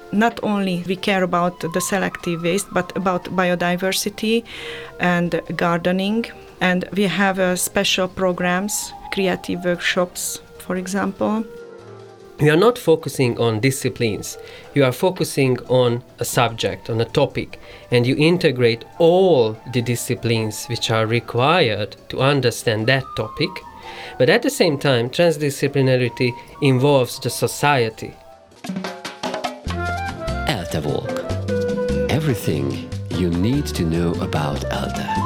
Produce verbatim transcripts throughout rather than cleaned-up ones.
not only we care about the selective waste, but about biodiversity and gardening. And we have uh, special programs, creative workshops, for example. You are not focusing on disciplines. You are focusing on a subject, on a topic, and you integrate all the disciplines which are required to understand that topic. But at the same time, transdisciplinarity involves the society. ELTE Walk. Everything you need to know about ELTE.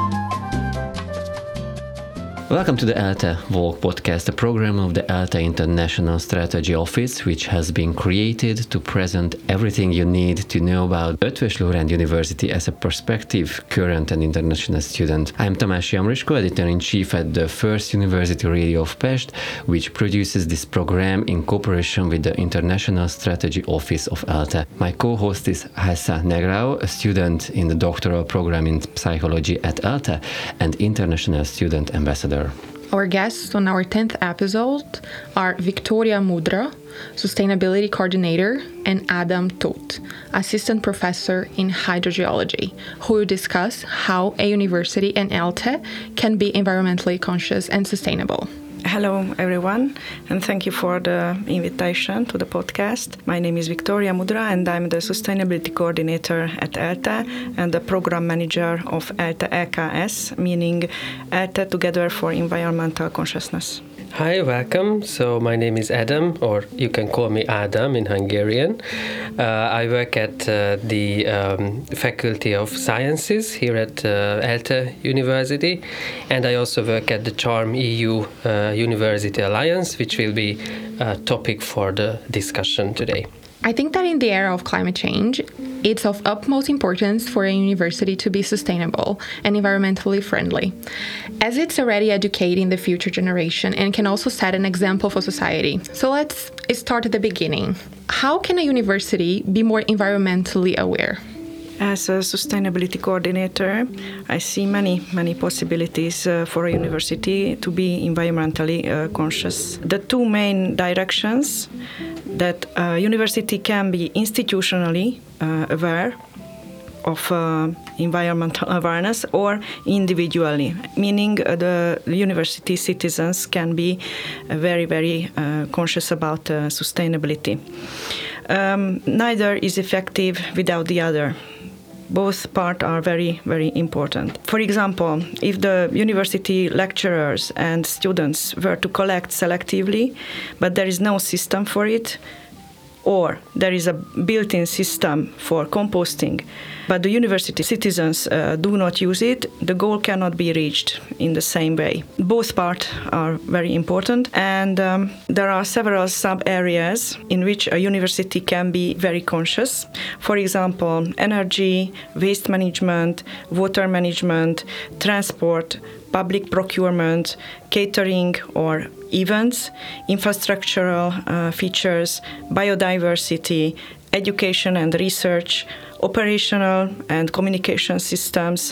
Welcome to the ELTE Walk podcast, a program of the ELTE International Strategy Office, which has been created to present everything you need to know about Eötvös Loránd University as a prospective, current and international student. I am Tamás Jamrisko, editor-in-chief at the First University Radio of Pest, which produces this program in cooperation with the International Strategy Office of ELTE. My co-host is Hassa Negrao, a student in the doctoral program in psychology at ELTE and international student ambassador. Our guests on our tenth episode are Victoria Mudra, Sustainability Coordinator, and Adam Tóth, Assistant Professor in Hydrogeology, who will discuss how a university and ELTE can be environmentally conscious and sustainable. Hello, everyone, and thank you for the invitation to the podcast. My name is Victoria Mudra, and I'm the Sustainability Coordinator at ELTE and the Program Manager of ELTE E K S, meaning ELTE Together for Environmental Consciousness. Hi, welcome. So my name is Adam, or you can call me Adam in Hungarian. Uh, I work at uh, the um, Faculty of Sciences here at uh, ELTE University, and I also work at the CHARM E U uh, University Alliance, which will be a topic for the discussion today. I think that in the era of climate change, it's of utmost importance for a university to be sustainable and environmentally friendly, as it's already educating the future generation and can also set an example for society. So let's start at the beginning. How can a university be more environmentally aware? As a sustainability coordinator, I see many, many possibilities uh, for a university to be environmentally uh, conscious. The two main directions that a university can be institutionally uh, aware of uh, environmental awareness or individually, meaning uh, the university citizens can be uh, very, very uh, conscious about uh, sustainability. Um, neither is effective without the other. Both parts are very, very important. For example, if the university lecturers and students were to collect selectively, but there is no system for it, or there is a built-in system for composting, but the university citizens uh, do not use it, the goal cannot be reached in the same way. Both parts are very important, and um, there are several sub-areas in which a university can be very conscious. For example, energy, waste management, water management, transport, public procurement, catering or events, infrastructural uh, features, biodiversity, education and research, operational and communication systems.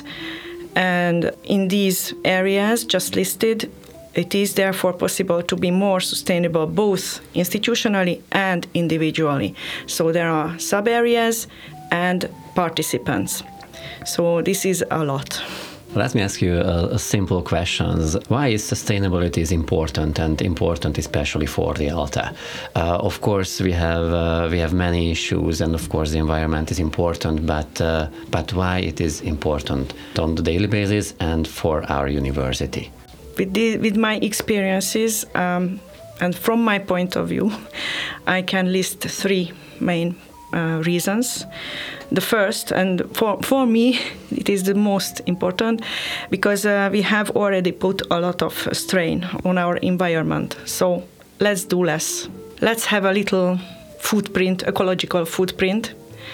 And in these areas just listed, it is therefore possible to be more sustainable both institutionally and individually. So there are sub-areas and participants. So this is a lot. Let me ask you a, a simple question. Why is sustainability is important and important especially for the ELTE? Uh, of course, we have uh, we have many issues, and of course the environment is important, but uh, but why it is important on the daily basis and for our university? With, the, with my experiences um, and from my point of view, I can list three main uh, reasons. The first, and for, for me, it is the most important, because uh, we have already put a lot of strain on our environment. So let's do less. Let's have a little footprint, ecological footprint,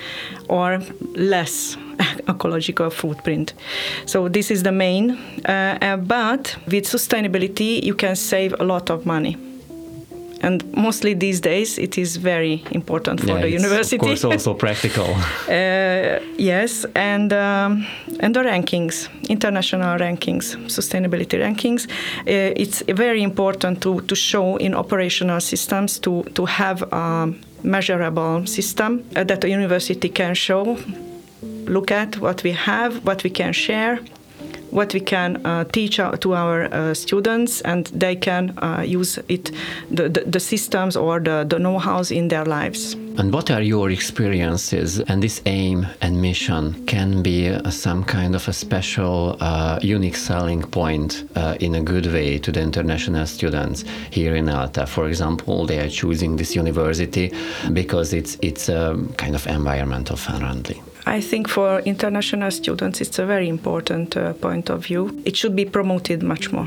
or less ecological footprint. So this is the main. Uh, uh, but with sustainability, you can save a lot of money. And mostly these days, it is very important for yeah, the it's university. Of course, also practical. uh, yes, and um, and the rankings, international rankings, sustainability rankings. Uh, it's very important to, to show in operational systems to to have um, measurable system uh, that a university can show, look at what we have, what we can share, what we can uh, teach our, to our uh, students, and they can uh, use it, the, the, the systems or the, the know-hows in their lives. And what are your experiences? And this aim and mission can be uh, some kind of a special, uh, unique selling point uh, in a good way to the international students here in ELTE. For example, they are choosing this university because it's it's a kind of environmental friendly. I think for international students, it's a very important uh, point of view. It should be promoted much more,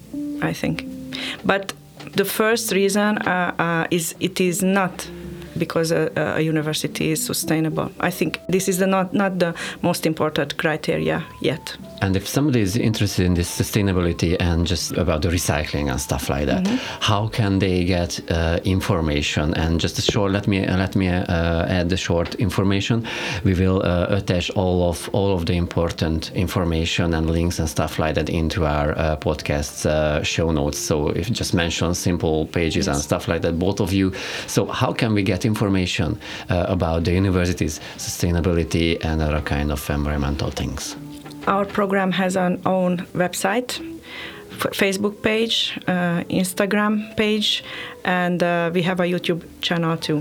I think. But the first reason uh, uh, is it is not because a, a university is sustainable. I think this is the not, not the most important criteria yet. And if somebody is interested in this sustainability and just about the recycling and stuff like that, mm-hmm. how can they get uh, information? And just a short, let me uh, let me uh, add the short information. We will uh, attach all of all of the important information and links and stuff like that into our uh, podcast's uh, show notes. So if you just mention simple pages yes. and stuff like that, both of you. So how can we get information uh, about the university's sustainability and other kind of environmental things? Our program has an own website, f- Facebook page, uh, Instagram page, and uh, we have a YouTube channel too.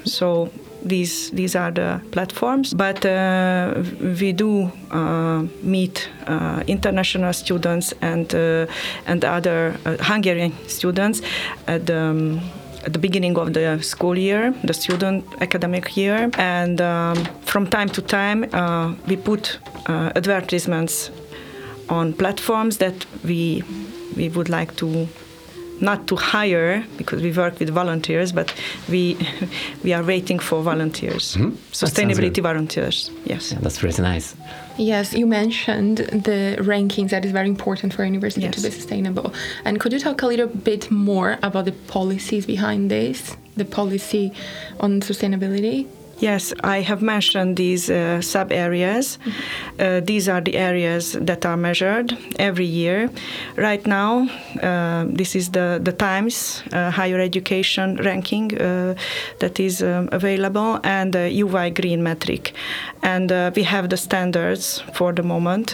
So these these are the platforms. But uh, we do uh, meet uh, international students and uh, and other uh, Hungarian students at the um, at the beginning of the school year, the student academic year, and um, from time to time uh, we put uh, advertisements on platforms that we we would like to not to hire, because we work with volunteers, but we we are waiting for volunteers, mm-hmm. sustainability volunteers. Yes, yeah, that's pretty nice. Yes, you mentioned the rankings that is very important for a university yes. to be sustainable. And could you talk a little bit more about the policies behind this, the policy on sustainability? Yes, I have mentioned these uh, sub-areas. Mm-hmm. Uh, these are the areas that are measured every year. Right now, uh, this is the, the Times uh, higher education ranking uh, that is um, available, and the U Y Green metric. And uh, we have the standards for the moment.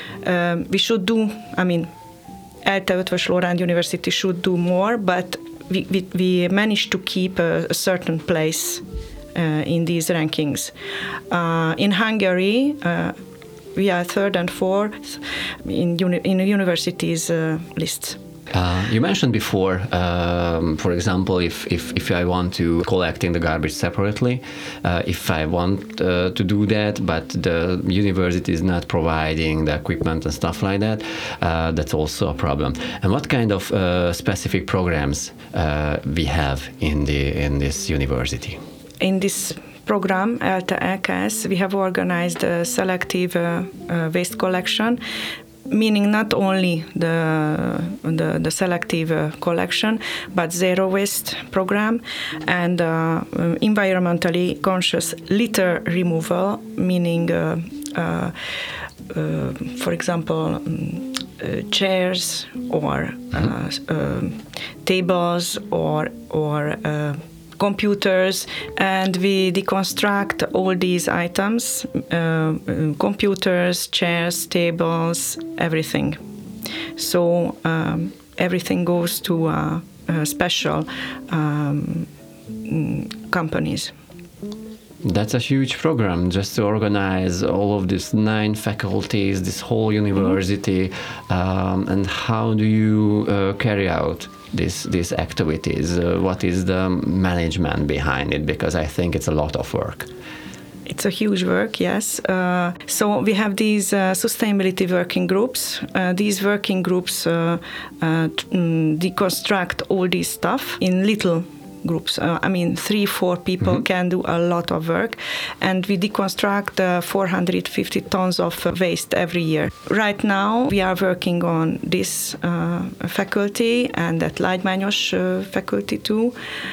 Um, we should do, I mean, ELTE Eötvös Loránd University should do more, but we, we, we managed to keep a, a certain place Uh, in these rankings. Uh, in Hungary, uh, we are third and fourth in, uni- in the universities' uh, lists. Uh, you mentioned before, um, for example, if, if, if I want to collecting the garbage separately, uh, if I want uh, to do that, but the university is not providing the equipment and stuff like that, uh, that's also a problem. And what kind of uh, specific programs uh, we have in the in this university? In this program, ELTE E K S, we have organized a selective uh, uh, waste collection, meaning not only the the, the selective uh, collection, but zero waste program and uh, environmentally conscious litter removal, meaning, uh, uh, uh, for example, um, uh, chairs or uh, uh, tables or or uh, computers, and we deconstruct all these items, uh, computers, chairs, tables, everything. So um, everything goes to uh, uh, special um, companies. That's a huge program, just to organize all of these nine faculties, this whole university. Mm-hmm. Um, and how do you uh, carry out This, these activities? Uh, what is the management behind it? Because I think it's a lot of work. It's a huge work, yes. Uh, so we have these uh, sustainability working groups. Uh, these working groups uh, uh, t- deconstruct all this stuff in little groups. Uh, I mean, three, four people mm-hmm. can do a lot of work, and we deconstruct uh, four hundred fifty tons of uh, waste every year. Right now, we are working on this uh, faculty and at Lágymányos uh, faculty too.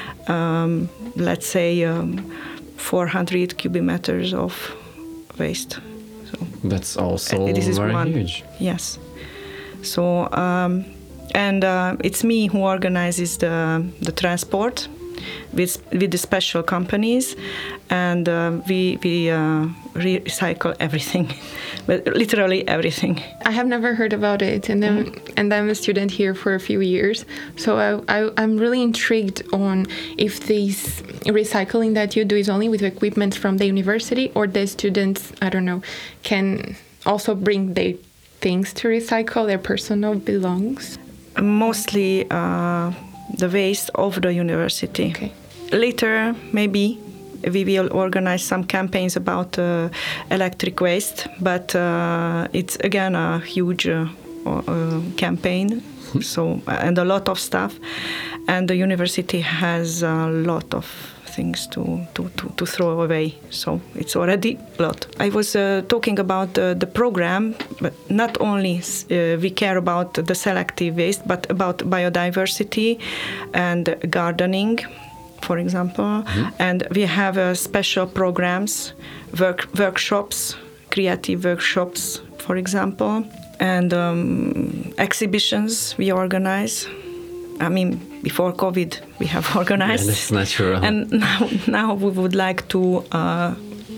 Um, let's say um, four hundred cubic meters of waste. So that's also uh, this is very one. huge. Yes. So. Um, And uh, it's me who organizes the the transport with with the special companies, and uh, we we uh, recycle everything, but literally everything. I have never heard about it, and then, mm. and I'm a student here for a few years, so I, I I'm really intrigued on if this recycling that you do is only with equipment from the university, or the students, I don't know, can also bring their things to recycle, their personal belongings. Mostly uh, the waste of the university. Okay. Later, maybe we will organize some campaigns about uh, electric waste, but uh, it's again a huge uh, uh, campaign. So and a lot of stuff, and the university has a lot of things to, to, to, to throw away. So it's already a lot. I was uh, talking about uh, the program, but not only uh, we care about the selective waste, but about biodiversity and gardening, for example. Mm-hmm. And we have uh, special programs, work, workshops, creative workshops, for example, and um, exhibitions we organize. I mean, before COVID, we have organized. Yeah, that's natural. And now, now we would like to uh,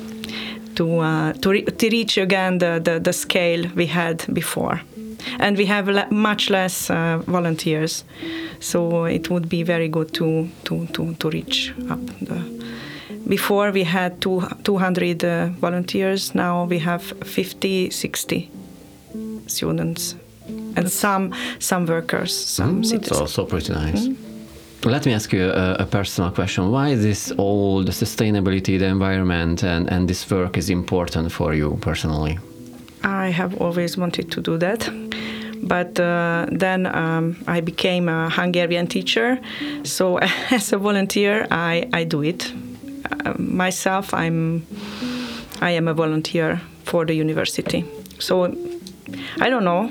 to uh, to, re- to reach again the, the, the scale we had before, and we have le- much less uh, volunteers. So it would be very good to to to, to reach up. The, before we had two, two hundred uh, volunteers. Now we have fifty, sixty students. And some some workers, some mm, citizens. That's also pretty nice. Mm. Let me ask you a, a personal question. Why this all the sustainability, the environment, and, and this work is important for you personally? I have always wanted to do that. But uh, then um, I became a Hungarian teacher. So as a volunteer, I, I do it. Uh, myself, I'm I am a volunteer for the university. So I don't know.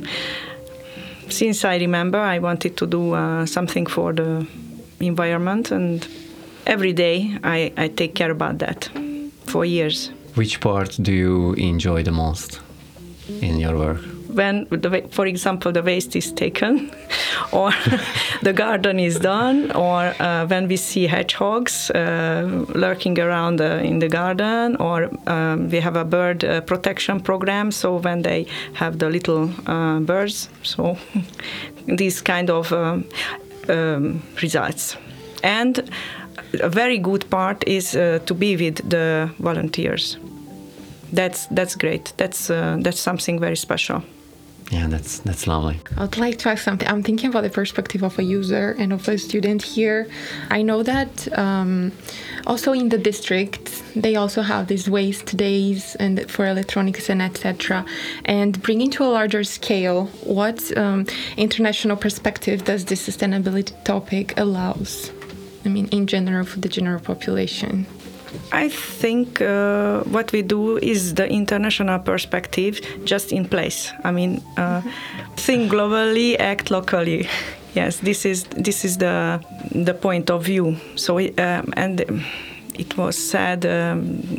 Since I remember, I wanted to do uh, something for the environment, and every day I, I take care about that for years. Which part do you enjoy the most in your work? When, the, for example, the waste is taken, or the garden is done, or uh, when we see hedgehogs uh, lurking around uh, in the garden, or um, we have a bird uh, protection program, so when they have the little uh, birds, so these kind of um, um, results. And a very good part is uh, to be with the volunteers. That's that's great. That's uh, that's something very special. Yeah, that's that's lovely. I would like to ask something. I'm thinking about the perspective of a user and of a student here. I know that um, also in the district, they also have these waste days and for electronics and et cetera. And bringing to a larger scale, what um, international perspective does this sustainability topic allows? I mean, in general, for the general population. I think uh, what we do is the international perspective just in place. I mean, uh, think globally, act locally. Yes, this is this is the the point of view. So, um, and it was said um,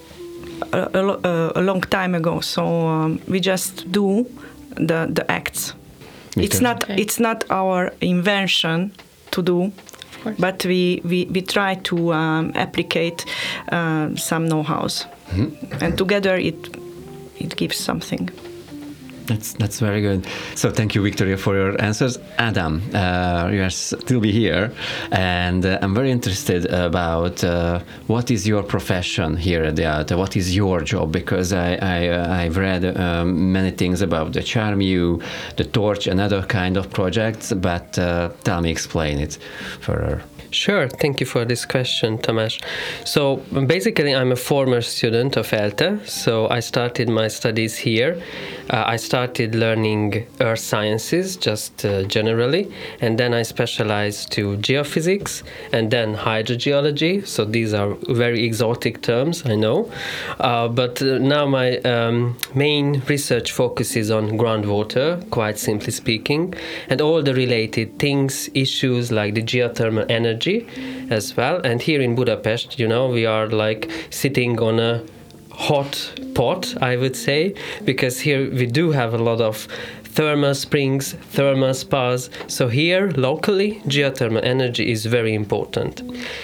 a, a, a long time ago. So um, we just do the the acts. Okay. It's not Okay. it's not our invention to do. But we, we, we try to um, applicate uh, some know-hows, mm-hmm. and together it it gives something. That's that's very good. So thank you, Victoria, for your answers. Adam, uh, you are still be here, and uh, I'm very interested about uh, what is your profession here at the ALTE. What is your job? Because I, I uh, I've read um, many things about the CHARMU, the Torch, and other kind of projects. But uh, tell me, explain it further. Sure, thank you for this question, Tamás. So basically I'm a former student of ALTE, so I started my studies here. Uh, I started learning earth sciences just uh, generally, and then I specialized to geophysics and then hydrogeology. So these are very exotic terms, I know. Uh, but uh, now my um, main research focuses on groundwater, quite simply speaking, and all the related things, issues like the geothermal energy as well. And here in Budapest, you know, we are like sitting on a hot pot, I would say, because here we do have a lot of thermal springs, thermal spas. So here, locally, geothermal energy is very important.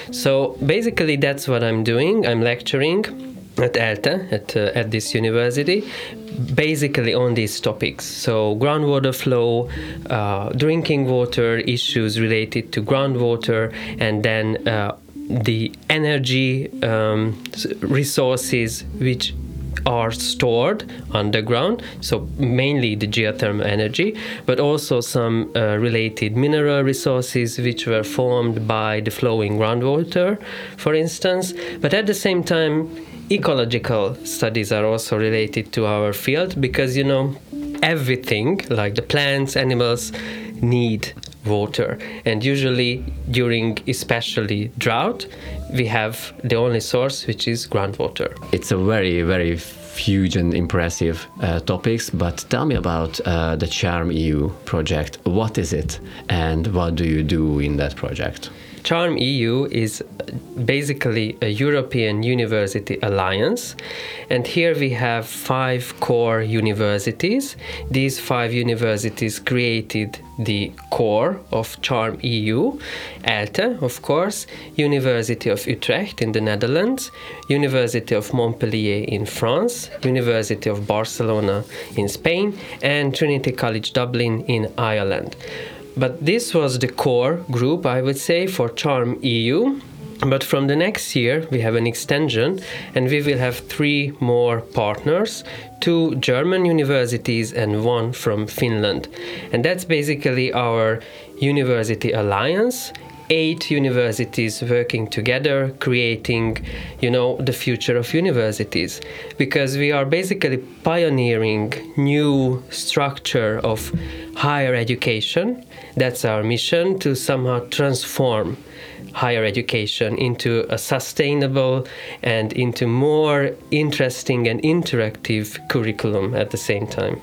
So basically, that's what I'm doing. I'm lecturing at ELTE, at, uh, at this university, basically on these topics. So groundwater flow, uh, drinking water issues related to groundwater, and then uh, the energy um, resources which are stored underground, so mainly the geothermal energy, but also some uh, related mineral resources which were formed by the flowing groundwater, for instance. But at the same time, ecological studies are also related to our field, because, you know, everything, like the plants, animals, need water. And usually during especially drought, we have the only source, which is groundwater. It's a very, very huge and impressive uh, topics, but tell me about uh, the Charm E U project. What is it and what do you do in that project? Charm E U is basically a European University Alliance, and here we have five core universities. These five universities created the core of Charm E U: ELTE, of course, University of Utrecht in the Netherlands, University of Montpellier in France, University of Barcelona in Spain, and Trinity College Dublin in Ireland. But this was the core group, I would say, for Charm E U. But from the next year, we have an extension, and we will have three more partners, two German universities and one from Finland. And that's basically our university alliance. Eight universities working together, creating, you know, the future of universities, because we are basically pioneering new structure of higher education. That's our mission, to somehow transform higher education into a sustainable and into more interesting and interactive curriculum at the same time.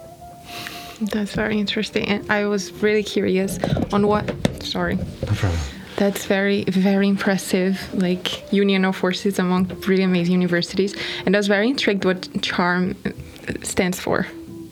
That's very interesting. And I was really curious on what, sorry. No problem. That's very, very impressive, like union of forces among really amazing universities. And I was very intrigued what CHARM stands for.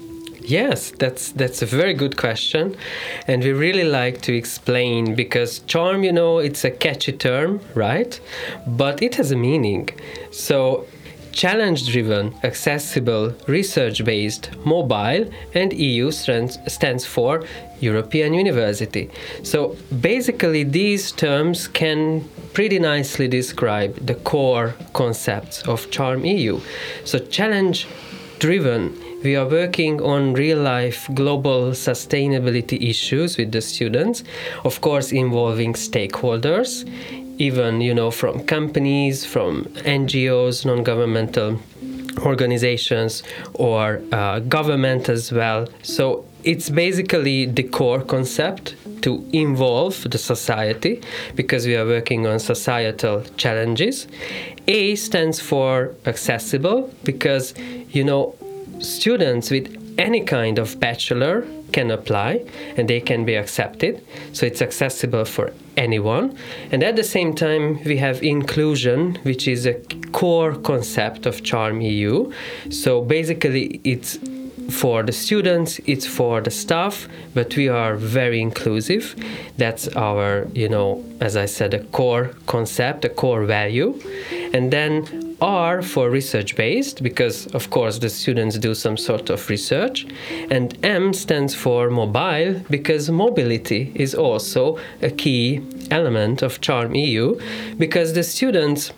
Yes, that's that's a very good question, and we really like to explain, because charm, you know, it's a catchy term, right? But it has a meaning. So challenge-driven, accessible, research-based, mobile, and E U stands, stands for European University. So basically these terms can pretty nicely describe the core concepts of Charm E U. So challenge-driven, we are working on real-life global sustainability issues with the students, of course involving stakeholders, even, you know, from companies, from N G Os, non-governmental organizations, or uh, government as well. So it's basically the core concept to involve the society, because we are working on societal challenges. A stands for accessible, because, you know, students with any kind of bachelor can apply and they can be accepted, so it's accessible for anyone. And at the same time we have inclusion, which is a core concept of Charm E U. So basically it's for the students, it's for the staff, but we are very inclusive. That's our, you know, as I said, a core concept, a core value. And then R for research-based, because of course the students do some sort of research. And M stands for mobile, because mobility is also a key element of Charm E U, because the students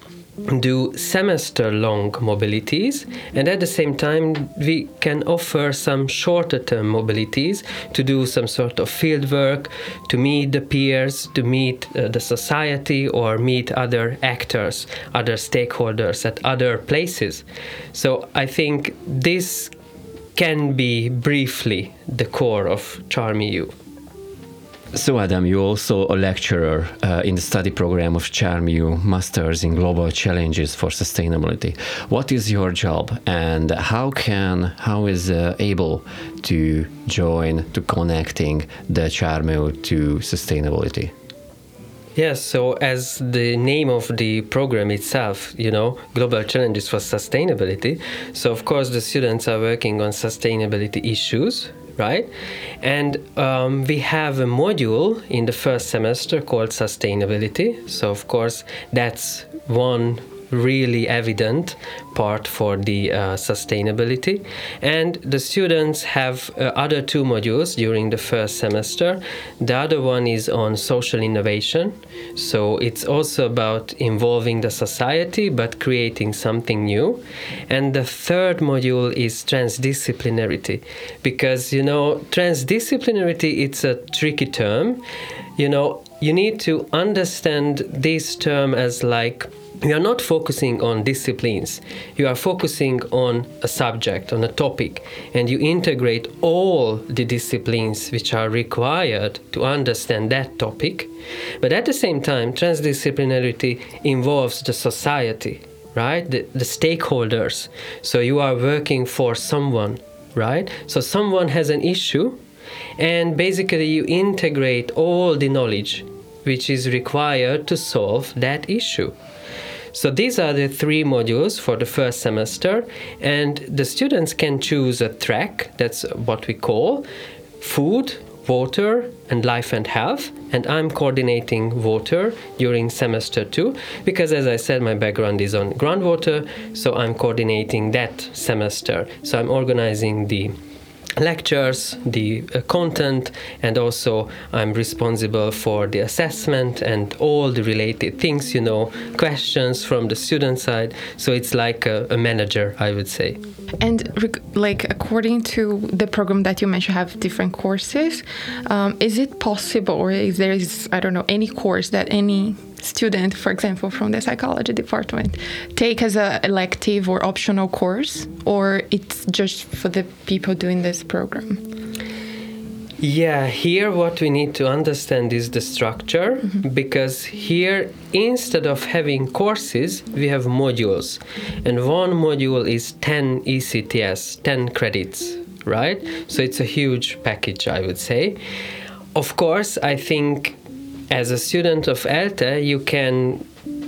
do semester-long mobilities, and at the same time we can offer some shorter-term mobilities to do some sort of field work, to meet the peers, to meet uh, the society, or meet other actors, other stakeholders at other places. So I think this can be briefly the core of Charm E U. So Adam, you're also a lecturer uh, in the study program of Charm E U Masters in Global Challenges for Sustainability. What is your job, and how can how is uh, able to join to connecting the Charm E U to sustainability? Yes, so as the name of the program itself, you know, Global Challenges for Sustainability, so of course the students are working on sustainability issues, right? And um, we have a module in the first semester called Sustainability. So of course that's one really evident part for the uh, sustainability, and the students have uh, other two modules during the first semester. The other one is on social innovation, so it's also about involving the society but creating something new. And the third module is transdisciplinarity, because you know transdisciplinarity, it's a tricky term. You know, you need to understand this term as like you are not focusing on disciplines, you are focusing on a subject, on a topic, and you integrate all the disciplines which are required to understand that topic. But at the same time, transdisciplinarity involves the society, right? The, the stakeholders. So you are working for someone, right? So someone has an issue, and basically you integrate all the knowledge which is required to solve that issue. So these are the three modules for the first semester, and the students can choose a track, that's what we call food, water, and life and health. And I'm coordinating water during semester two, because as I said, my background is on groundwater, so I'm coordinating that semester. So I'm organizing the lectures, the uh, content, and also I'm responsible for the assessment and all the related things, you know, questions from the student side. So it's like a, a manager, I would say. And rec- like according to the program that you mentioned, have different courses. Um, is it possible, or is there is I don't know any course that any student, for example, from the psychology department, take as a elective or optional course, or it's just for the people doing this program? Yeah, here what we need to understand is the structure, mm-hmm. because here instead of having courses, we have modules, and one module is ten E C T S, ten credits, right? So it's a huge package, I would say. Of course, I think as a student of ELTE, you can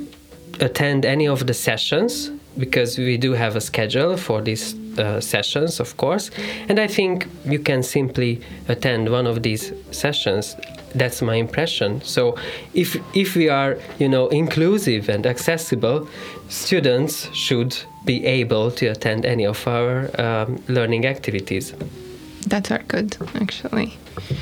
attend any of the sessions, because we do have a schedule for these uh, sessions, of course. And I think you can simply attend one of these sessions. That's my impression. So if if we are, you know, inclusive and accessible, students should be able to attend any of our um, learning activities. That's very good, actually.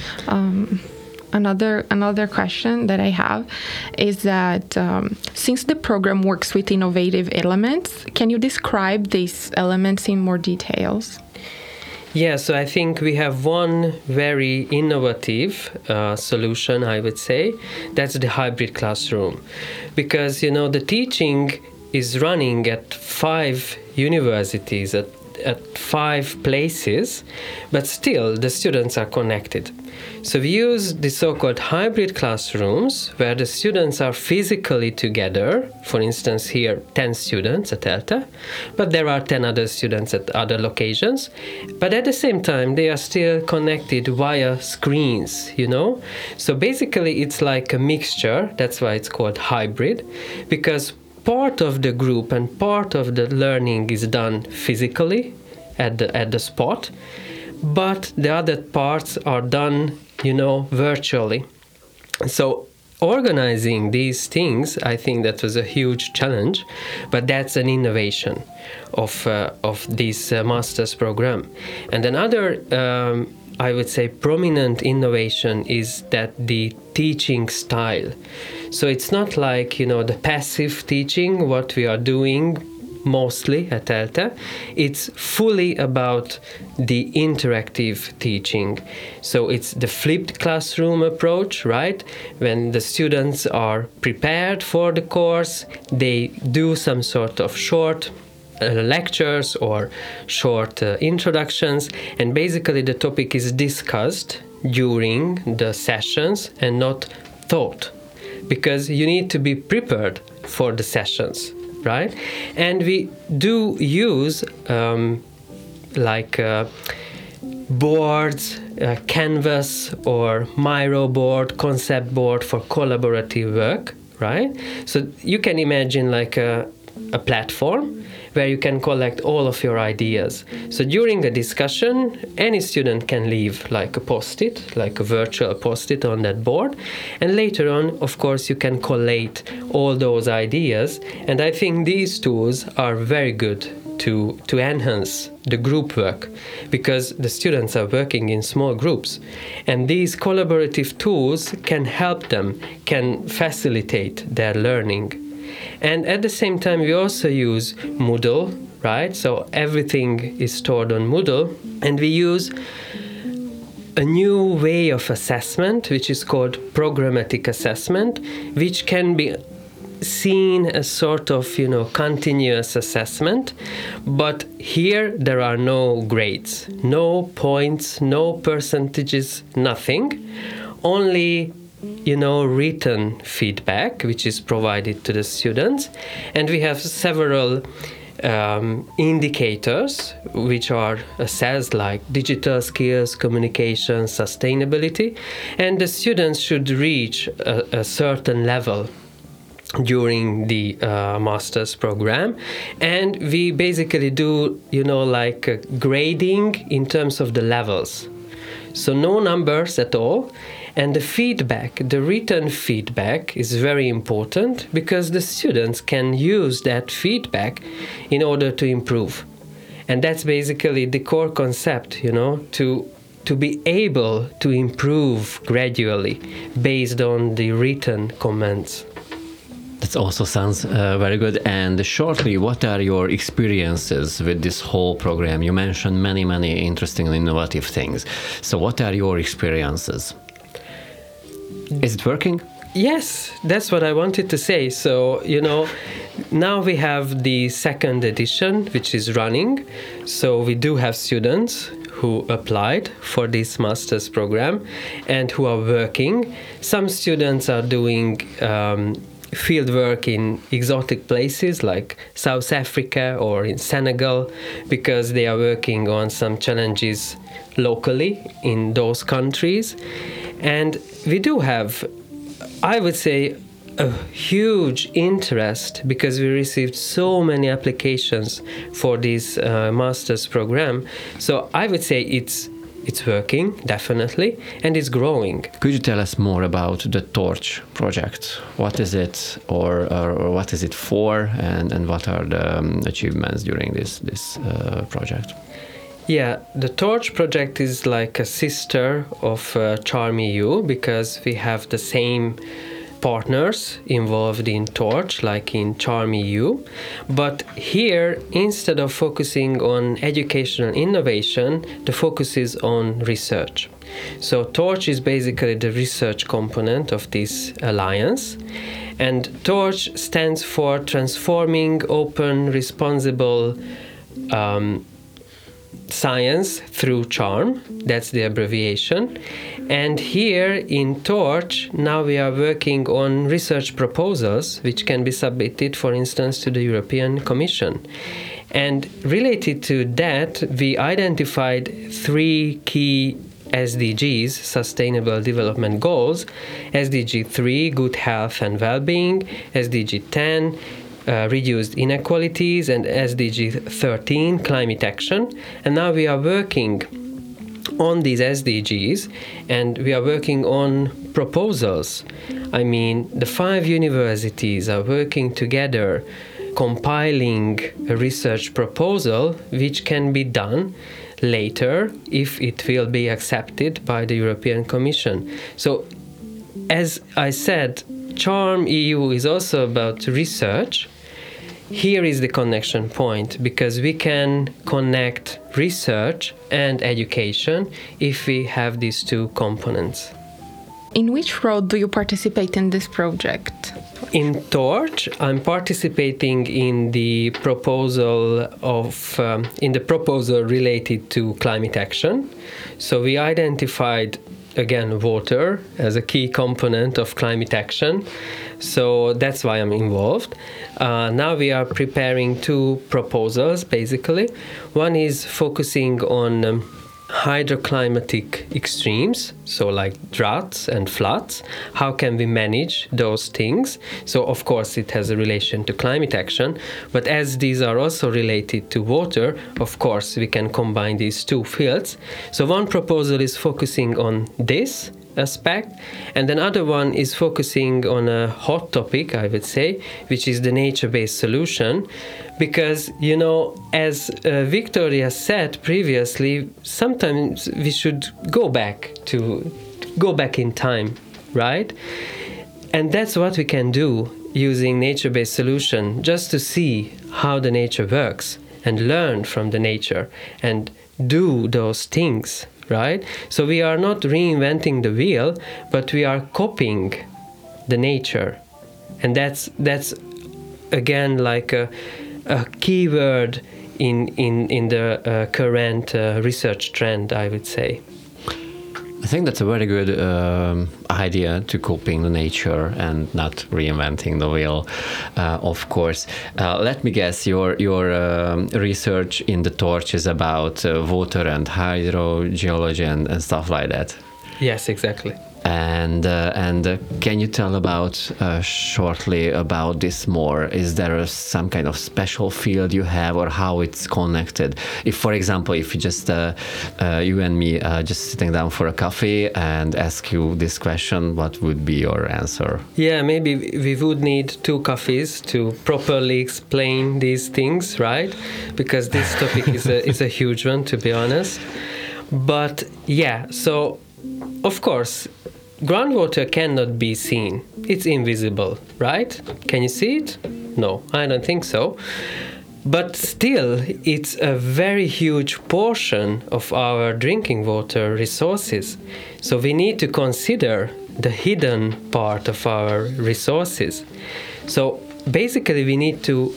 Um, Another another question that I have is that um, since the program works with innovative elements, can you describe these elements in more details? Yeah, so I think we have one very innovative uh, solution, I would say. That's the hybrid classroom. Because, you know, the teaching is running at five universities, at, at five places, but still the students are connected. So we use the so-called hybrid classrooms where the students are physically together. For instance, here ten students at ELTE, but there are ten other students at other locations. But at the same time, they are still connected via screens, you know? So basically, it's like a mixture. That's why it's called hybrid, because part of the group and part of the learning is done physically at the, at the spot, but the other parts are done, you know, virtually. So organizing these things, I think that was a huge challenge, but that's an innovation of uh, of this uh, master's program. And another, um, I would say, prominent innovation is that the teaching style. So it's not like, you know, the passive teaching, what we are doing mostly at ELTE. It's fully about the interactive teaching. So it's the flipped classroom approach, right? When the students are prepared for the course, they do some sort of short uh, lectures or short uh, introductions, and basically the topic is discussed during the sessions and not taught, because you need to be prepared for the sessions, right? And we do use um, like uh, boards uh, Canvas or Miro board, concept board for collaborative work, right? So you can imagine like a, a platform where you can collect all of your ideas. So during a discussion, any student can leave like a post-it, like a virtual post-it on that board. And later on, of course, you can collate all those ideas. And I think these tools are very good to, to enhance the group work, because the students are working in small groups. And these collaborative tools can help them, can facilitate their learning. And at the same time, we also use Moodle, right? So everything is stored on Moodle. And we use a new way of assessment, which is called programmatic assessment, which can be seen as sort of, you know, continuous assessment. But here there are no grades, no points, no percentages, nothing. Only you know, written feedback, which is provided to the students. And we have several um, indicators, which are assessed, like digital skills, communication, sustainability. And the students should reach a, a certain level during the uh, master's program. And we basically do, you know, like uh, grading in terms of the levels. So no numbers at all. And the feedback, the written feedback is very important, because the students can use that feedback in order to improve. And that's basically the core concept, you know, to to be able to improve gradually based on the written comments. That also sounds uh, very good. And shortly, what are your experiences with this whole program? You mentioned many, many interesting and innovative things. So what are your experiences? Is it working? Yes, that's what I wanted to say. So, you know, now we have the second edition, which is running. So we do have students who applied for this master's program and who are working. Some students are doing um, field work in exotic places like South Africa or in Senegal, because they are working on some challenges locally in those countries. And we do have, I would say, a huge interest, because we received so many applications for this uh, master's program. So I would say it's it's working, definitely, and it's growing. Could you tell us more about the Torch project? What is it, or, or, or what is it for, and, and what are the um, achievements during this, this uh, project? Yeah, the Torch project is like a sister of uh, Charm E U, because we have the same partners involved in Torch, like in Charm E U. But here, instead of focusing on educational innovation, the focus is on research. So Torch is basically the research component of this alliance. And Torch stands for Transforming Open, Responsible um, Science Through Charm. That's the abbreviation. And here in Torch, now we are working on research proposals which can be submitted, for instance, to the European Commission. And related to that, we identified three key S D Gs, Sustainable Development Goals: S D G three, Good Health and Well-being; S D G ten, Uh, reduced inequalities; and S D G thirteen, climate action. And now we are working on these S D Gs, and we are working on proposals. I mean, the five universities are working together, compiling a research proposal which can be done later if it will be accepted by the European Commission. So, as I said, Charm E U is also about research. Here is the connection point, because we can connect research and education if we have these two components. In which role do you participate in this project? In Torch, I'm participating in the proposal of um, in the proposal related to climate action. So we identified again water as a key component of climate action. So that's why I'm involved. Uh, now we are preparing two proposals, basically. One is focusing on um, hydroclimatic extremes, so like droughts and floods. How can we manage those things? So of course it has a relation to climate action, but as these are also related to water, of course we can combine these two fields. So one proposal is focusing on this aspect, and another one is focusing on a hot topic, I would say, which is the nature-based solution. Because, you know, as uh, Victoria said previously, sometimes we should go back to go back in time, right? And that's what we can do using nature-based solution, just to see how the nature works and learn from the nature and do those things, right? So we are not reinventing the wheel, but we are copying the nature. And that's that's again like a, a key word in, in, in the uh, current uh, research trend, I would say. I think that's a very good um, idea, to copying the nature and not reinventing the wheel, uh, of course. Uh, let me guess, your your um, research in the Torch is about uh, water and hydrogeology and, and stuff like that. Yes, exactly. And uh, and uh, can you tell about uh, shortly about this more? Is there a, some kind of special field you have, or how it's connected? If, for example, if you just uh, uh, you and me uh, just sitting down for a coffee and ask you this question, what would be your answer? Yeah, maybe we would need two coffees to properly explain these things, right? Because this topic is a is a huge one, to be honest. But yeah, so of course, groundwater cannot be seen. It's invisible, right? Can you see it? No, I don't think so. But still, it's a very huge portion of our drinking water resources. So we need to consider the hidden part of our resources. So basically, we need to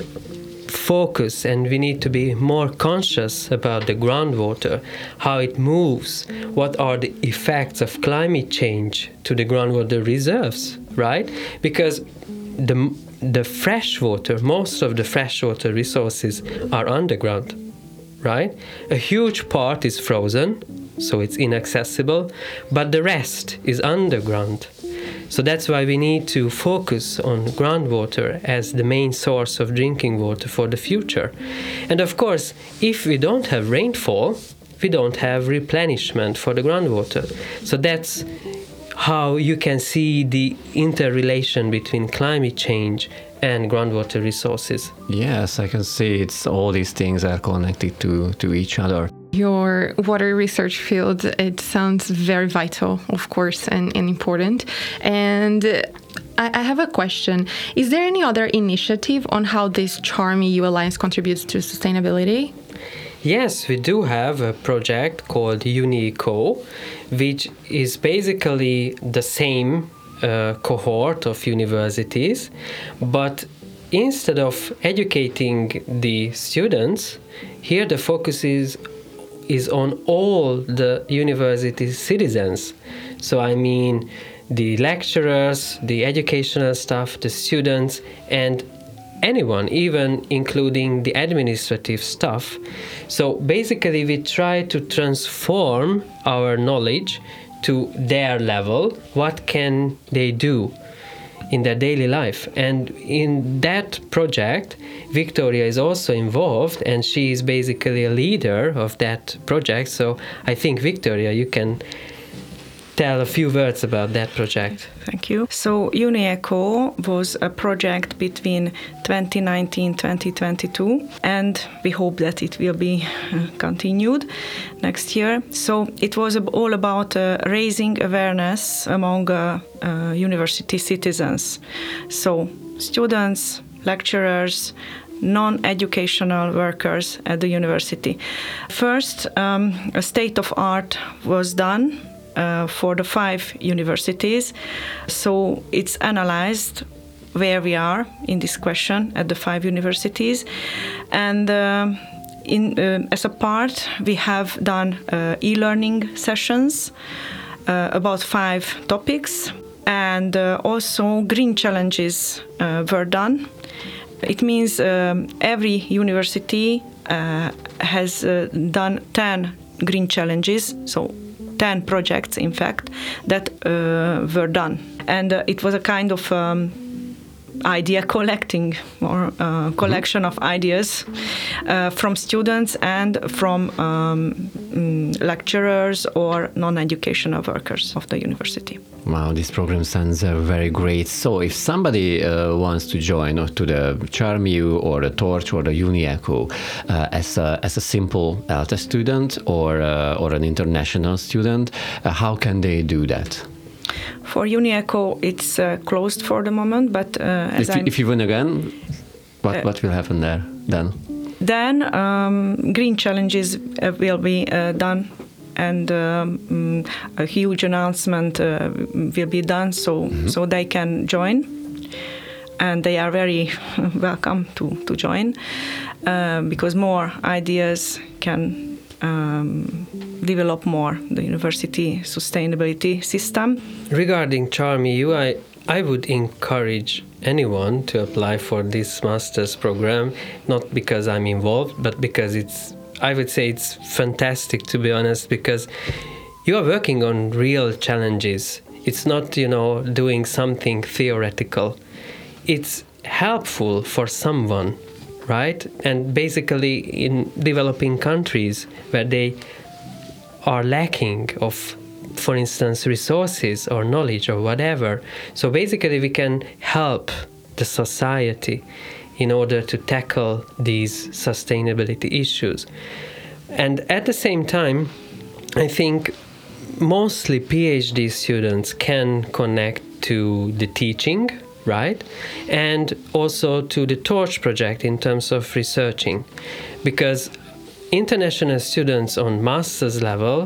focus and we need to be more conscious about the groundwater, how it moves, what are the effects of climate change to the groundwater reserves, right? Because the the fresh water, most of the freshwater resources are underground, right? A huge part is frozen, so it's inaccessible, but the rest is underground. So that's why we need to focus on groundwater as the main source of drinking water for the future. And of course, if we don't have rainfall, we don't have replenishment for the groundwater. So that's how you can see the interrelation between climate change and groundwater resources. Yes, I can see it's all these things are connected to, to each other. Your water research field, it sounds very vital, of course, and, and important. And I, I have a question. Is there any other initiative on how this Charm E U Alliance contributes to sustainability? Yes, we do have a project called UniEco, which is basically the same uh, cohort of universities, but instead of educating the students, here the focus is is on all the university citizens. So I mean the lecturers, the educational staff, the students, and anyone, even including the administrative staff. So basically we try to transform our knowledge to their level. What can they do in their daily life? And in that project, Victoria is also involved, and she is basically a leader of that project. So I think, Victoria, you can tell a few words about that project. Thank you. So UniEco was a project between twenty nineteen to twenty twenty-two, and we hope that it will be uh, continued next year. So it was all about uh, raising awareness among uh, uh, university citizens. So students, lecturers, non-educational workers at the university. First, um, a state of art was done Uh, for the five universities. So it's analyzed where we are in this question at the five universities. And uh, in uh, as a part, we have done uh, e-learning sessions uh, about five topics. And uh, also green challenges uh, were done. It means um, every university uh, has uh, done ten green challenges, so ten projects, in fact, that uh, were done. And uh, it was a kind of um, idea collecting or uh, collection of ideas uh, from students and from um, mm, lecturers or non-educational workers of the university. Wow, this program sounds uh, very great. So if somebody uh, wants to join or to the CharmU or the Torch or the UniEco uh, as, a, as a simple ELTE student or, uh, or an international student, uh, how can they do that? For UniEco, it's uh, closed for the moment, but uh, as if, I'm, if you win again, what, uh, what will happen there then? Then um, green challenges uh, will be uh, done, and um, a huge announcement uh, will be done, so mm-hmm. so they can join, and they are very welcome to to join, uh, because more ideas can um, develop more the university sustainability system. Regarding CharmU, I, I would encourage anyone to apply for this master's program, not because I'm involved, but because it's, I would say it's fantastic, to be honest, because you are working on real challenges. It's not, you know, doing something theoretical. It's helpful for someone, right? And basically in developing countries where they are lacking of, for instance, resources or knowledge or whatever. So basically we can help the society in order to tackle these sustainability issues. And at the same time, I think mostly PhD students can connect to the teaching, right? And also to the Torch project in terms of researching. Because international students on master's level,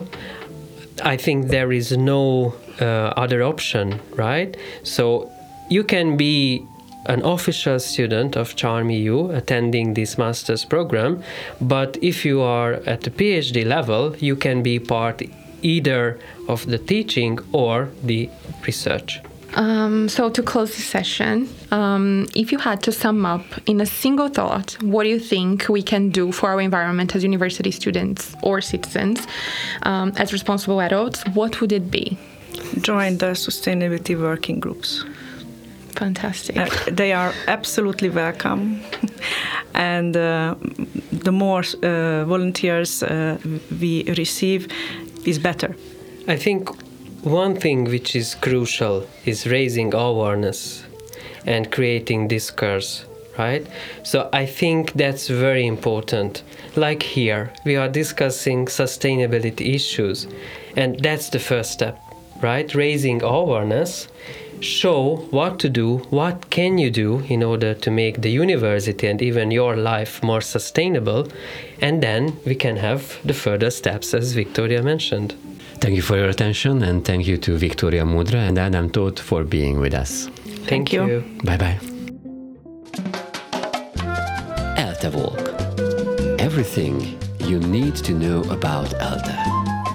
I think there is no uh, other option, right? So you can be an official student of CharmU attending this master's program, but if you are at the PhD level, you can be part either of the teaching or the research. Um, so to close the session, um, if you had to sum up in a single thought, what do you think we can do for our environment as university students or citizens, um, as responsible adults, what would it be? Join the sustainability working groups. Fantastic. Uh, they are absolutely welcome. And uh, the more uh, volunteers uh, we receive is better. I think one thing which is crucial is raising awareness and creating discourse, right? So I think that's very important. Like here, we are discussing sustainability issues, and that's the first step, right? Raising awareness, show what to do, what can you do in order to make the university and even your life more sustainable, and then we can have the further steps, as Victoria mentioned. Thank you for your attention, and thank you to Victoria Mudra and Adam Tóth for being with us. Thank, Thank you. you. Bye-bye. ELTE Walk. Everything you need to know about ELTE.